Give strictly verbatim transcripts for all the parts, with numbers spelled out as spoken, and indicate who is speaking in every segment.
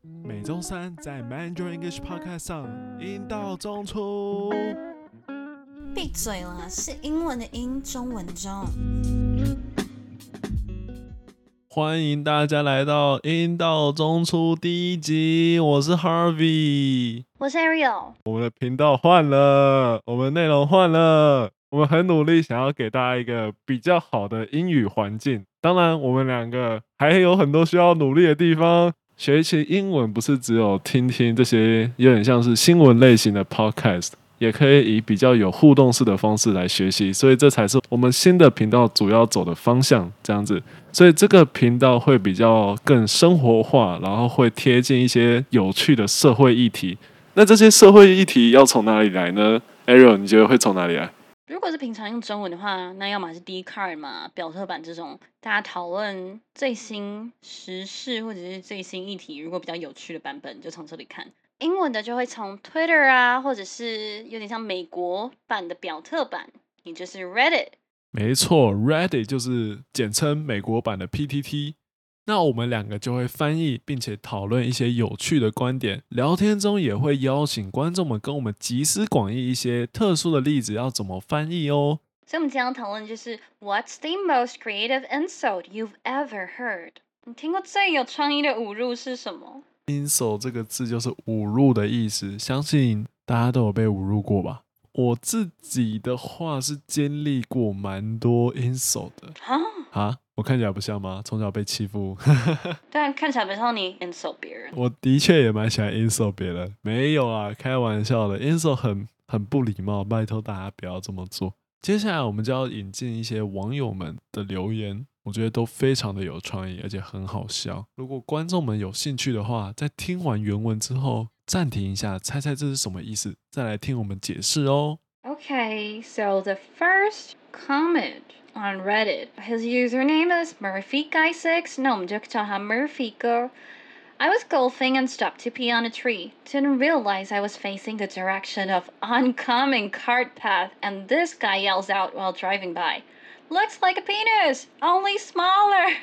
Speaker 1: 每週三在 Mandarin English Podcast 上，英道中出。
Speaker 2: 閉嘴啦，是英文的英，中文的中。
Speaker 1: 歡迎大家來到英道中出第一集，我是 Harvey，
Speaker 2: 我是 Ariel。
Speaker 1: 我們的頻道換了，我們內容換了，我們很努力想要給大家一個比較好的英語環境。當然，我們兩個還有很多需要努力的地方。學一些英文不是只有聽聽這些有點像是新聞類型的 podcast， 也可以以比較有互動式的方式來學習，所以這才是我們新的頻道主要走的方向，這樣子。所以這個頻道會比較更生活化，然後會貼近一些有趣的社會議題。那這些社會議題要從哪裡來呢？ Ariel， 你覺得會從哪裡來？
Speaker 2: 如果是平常用中文的話，那要麼是 Dcard 嘛，表特版這種大家討論最新時事或者是最新議題，如果比較有趣的版本就從這裡看。英文的就會從 Twitter 啊，或者是有點像美國版的表特版，也就是 Reddit。
Speaker 1: 沒錯 Reddit 就是簡稱美國版的 P T T。那我們兩個就會翻譯並且討論一些有趣的觀點，聊天中也會邀請觀眾們跟我們集思廣益一些特殊的例子要怎麼翻譯哦。
Speaker 2: 所以我們今天要討論就是 What's the most creative insult you've ever heard？ 你聽過最有創意的侮辱是什麼？
Speaker 1: insult 這個字就是侮辱的意思，相信大家都有被侮辱過吧。我自己的話是經歷過蠻多 insult 的。啊？我看起來不像嗎？從小被欺負。
Speaker 2: 但看起來不像你 insult 別人。
Speaker 1: 我的確也蠻喜歡 insult 別人。沒有啊，開玩笑的。insult 很很不禮貌，拜託大家不要這麼做。接下來我們就要引進一些網友們的留言，我覺得都非常的有創意，而且很好笑。如果觀眾們有興趣的話，在聽完原文之後暫停一下，猜猜這是什麼意思，再來聽我們解釋哦。
Speaker 2: Okay, so the first comment on Reddit, his username is Murphy Guy six. 那我們就叫他 Murphy 哥。I was golfing and stopped to pee on a tree. Didn't realize I was facing the direction of oncoming cart path, and this guy yells out while driving by. Looks like a penis, only smaller.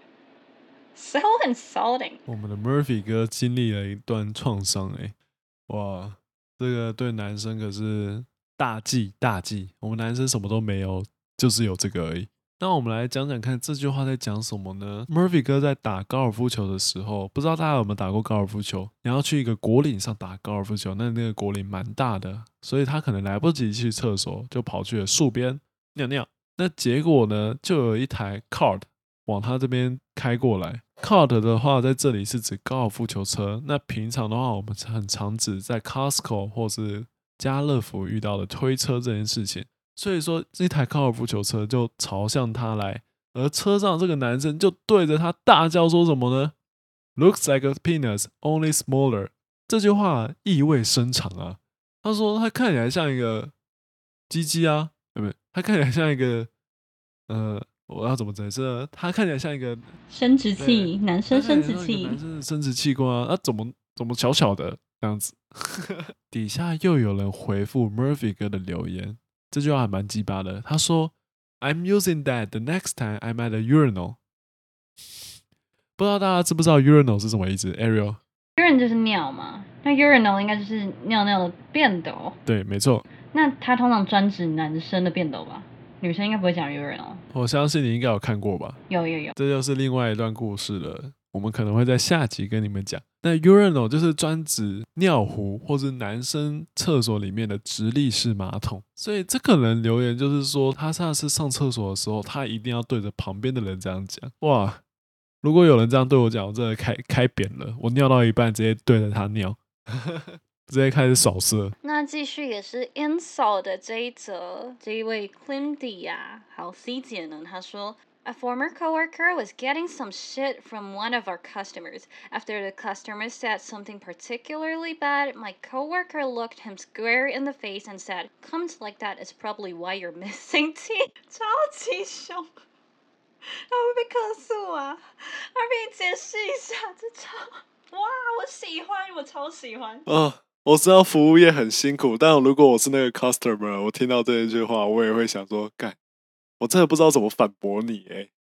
Speaker 2: So insulting.
Speaker 1: 我們的 Murphy 哥經歷了一段創傷哎，哇，這個對男生可是大忌大忌。我們男生什麼都沒有，就是有這個而已。那我們來講講看這句話在講什麼呢？ Murphy 哥在打高爾夫球的時候，不知道大家有沒有打過高爾夫球？你要去一個果嶺上打高爾夫球，那那個果嶺蠻大的，所以他可能來不及去廁所，就跑去了樹邊尿尿。那結果呢，就有一台 cart 往他這邊開過來。cart 的話，在這裡是指高爾夫球車。那平常的話，我們很常指在 Costco 或是家樂福遇到的推車這件事情。所以說，這台高爾夫球車就朝向他來，而車上這個男生就對着他大叫說什麼呢？ Looks like a penis, only smaller。 這句話意味深長啊。他說他看起來像一個雞雞啊，對不對？他看起來像一個，呃，我要怎麼解釋呢？他看起來像一個
Speaker 2: 生殖器，男生生殖器，
Speaker 1: 男生的生殖器官啊，他怎麼怎麼小小的這樣子？底下又有人回復 Murphy 哥的留言。這句話還蠻雞巴的，他說 I'm using that the next time I'm at a urinal。 不知道大家知不知道 urinal 是什麼意思？ Ariel？
Speaker 2: urine 就是尿嘛，那 urinal 應該就是尿尿的便斗。對，
Speaker 1: 沒錯。
Speaker 2: 那它通常專指男生的便斗吧？女生應該不會講 urinal。我
Speaker 1: 相信你應該有看過吧？
Speaker 2: 有有有。
Speaker 1: 這就是另外一段故事了，我們可能會在下集跟你們講。那 urinal 就是專指尿壺或是男生廁所裡面的直立式馬桶，所以這個人留言就是說，他上次上廁所的時候，他一定要對着旁邊的人這樣講。哇，如果有人這樣對我講，我真的開開扁了，我尿到一半直接對着他尿，直接開始掃射。那繼續也是 insult 的這一則，這一位 Clindy 啊，好 C 姐呢，他說，A former coworker was getting some shit from one of our customers. After the customer said something particularly bad, my coworker looked him square in the face and said, "Comments like that is probably why you're missing teeth." 超級兇，他會被客訴啊！他給你解釋一下，這超哇，我喜歡，我超喜歡。哦，我知道服務業很辛苦，但如果我是那個 customer， 我聽到這一句話，我也會想說，幹。我真的不知道怎麼反駁你哎、欸，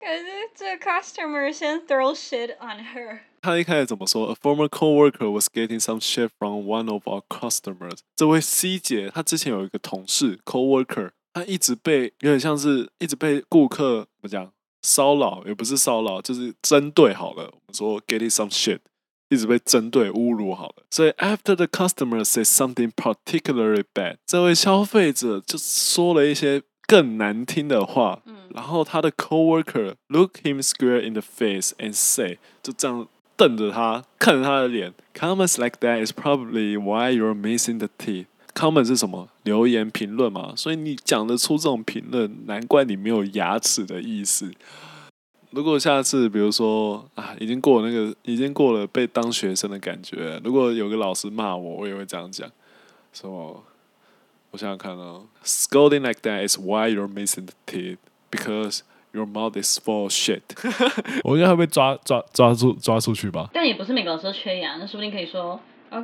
Speaker 2: 可是這個 customer 先 throw shit on her。
Speaker 1: 他一開始怎麼說 ？A former coworker was getting some shit from one of our customers。這位 C 姐，她之前有一個同事 coworker， 她一直被有點像是一直被顧客怎麼講騷擾，也不是騷擾，就是針對好了。我們說 getting some shit， 一直被針對侮辱好了。所以 after the customer said something particularly bad， 這位消費者就說了一些更難聽的話。嗯、然後他的 coworker look him square in the face and say， 就這樣瞪着他，看着他的臉 ，comments like that is probably why you're missing the teeth。comment 是什麼？留言評論嘛，所以你講得出這種評論，難怪你沒有牙齒的意思。如果下次比如說啊，已經過了那個，已經過了被當學生的感覺，如果有個老師罵我，我也會這樣講，說，我想想看哦 ，scolding like that is why you're missing the teeth because your mouth is full of shit 。我應該會被抓抓抓出抓出去吧？
Speaker 2: 但也不是每個老師都缺牙，那說不定可以說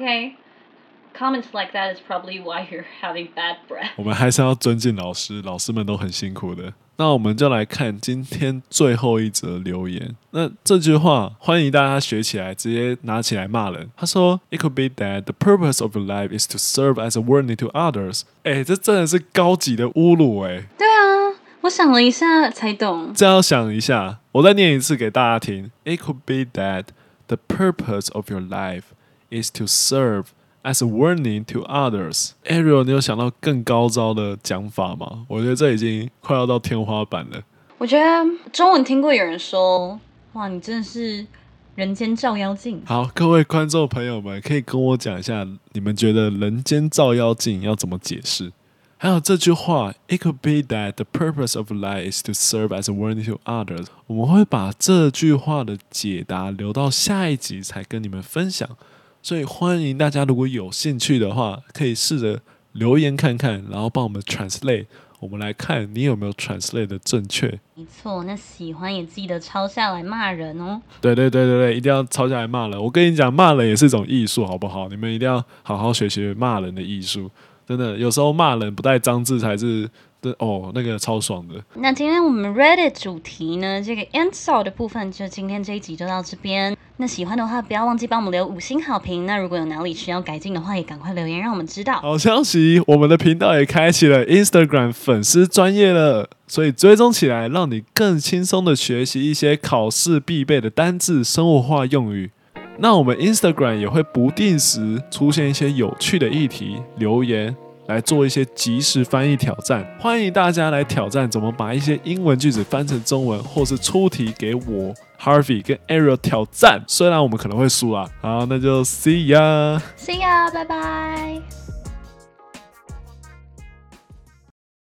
Speaker 2: ，OK。Comments like that is probably why you're having bad breath。
Speaker 1: 我們還是要尊敬老師，老師們都很辛苦的。那我們就來看今天最後一則留言。那這句話歡迎大家學起來，直接拿起來罵人。他說 ：“It could be that the purpose of your life is to serve as a warning to others。”哎，這真的是高級的侮辱哎。
Speaker 2: 對啊，我想了一下才懂。
Speaker 1: 這要想一下，我再念一次給大家聽。It could be that the purpose of your life is to serve as a warning to others。 Ariel， 你有想到更高招的講法嗎？我覺得這已經快要到天花板了。
Speaker 2: 我覺得中文聽過有人說，哇，你真的是人間照妖鏡。
Speaker 1: 好，各位觀眾朋友們，可以跟我講一下，你們覺得人間照妖鏡要怎麼解釋？還有這句話 ，It could be that the purpose of life is to serve as a warning to others。我們會把這句話的解答留到下一集才跟你們分享。所以歡迎大家，如果有興趣的話，可以試着留言看看，然後幫我們 translate。我們來看你有沒有 translate 的正確。
Speaker 2: 沒錯，那喜歡也記得抄下來罵人哦。
Speaker 1: 對對對對對，一定要抄下來罵人。我跟你講，罵人也是一種藝術，好不好？你們一定要好好學學罵人的藝術。真的，有時候罵人不帶髒字才是。哦，那個超爽的。那
Speaker 2: 今天我們 Reddit 主題呢，這個 insult 的部分，就今天這一集就到這邊。那喜歡的話，不要忘記幫我們留五星好評。那如果有哪裡需要改進的話，也趕快留言讓我們知道。
Speaker 1: 好消息，我們的頻道也開啟了 Instagram 粉絲專頁了，所以追蹤起來，讓你更輕鬆的學習一些考試必備的單字、生活化用語。那我們 Instagram 也會不定時出現一些有趣的議題留言，來做一些即時翻譯挑戰，歡迎大家來挑戰怎麼把一些英文句子翻成中文，或是出題給我 Harvey 跟 Ariel 挑戰。雖然我們可能會輸啦，好，那就 See ya，See
Speaker 2: ya，拜拜。